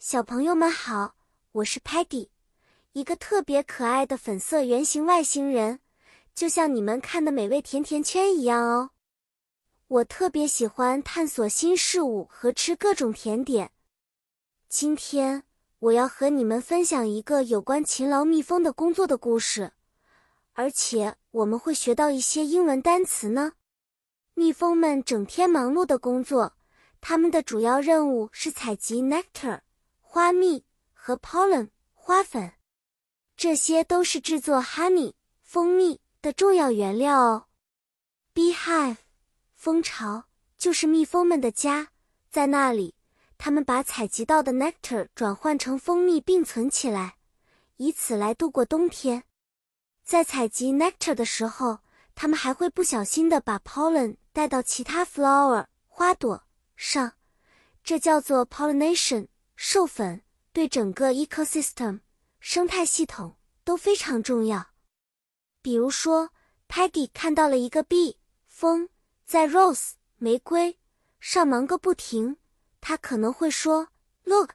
小朋友们好，我是 Peggy， 一个特别可爱的粉色圆形外星人，就像你们看的美味甜甜圈一样哦。我特别喜欢探索新事物和吃各种甜点。今天我要和你们分享一个有关勤劳蜜蜂的工作的故事，而且我们会学到一些英文单词呢。蜜蜂们整天忙碌的工作，它们的主要任务是采集 nectar 花蜜和 pollen 花粉，这些都是制作 honey 蜂蜜的重要原料哦。Beehive 蜂巢就是蜜蜂们的家，在那里，它们把采集到的 nectar 转换成蜂蜜并存起来，以此来度过冬天。在采集 nectar 的时候，它们还会不小心地把 pollen 带到其他 flower 花朵上，这叫做 pollination 授粉，对整个 ecosystem 生态系统都非常重要。比如说 Peggy 看到了一个 bee 蜂在 rose 玫瑰上忙个不停，她可能会说 Look,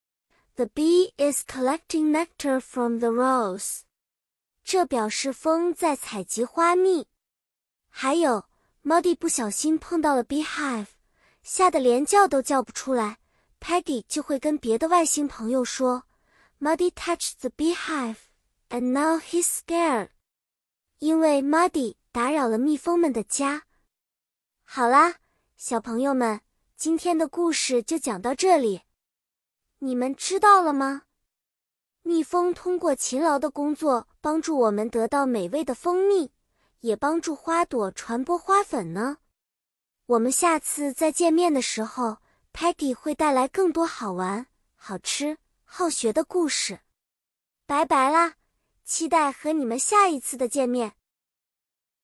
the bee is collecting nectar from the rose， 这表示蜂在采集花蜜。还有 Muddy 不小心碰到了 beehive， 吓得连叫都叫不出来， Peggy 就会跟别的外星朋友说 Muddy touched the beehive and now he's scared， 因为 Muddy 打扰了蜜蜂们的家。好啦，小朋友们，今天的故事就讲到这里。你们知道了吗？蜜蜂通过勤劳的工作帮助我们得到美味的蜂蜜，也帮助花朵传播花粉呢。我们下次再见面的时候， Peggy 会带来更多好玩、好吃、好学的故事。拜拜啦，期待和你们下一次的见面。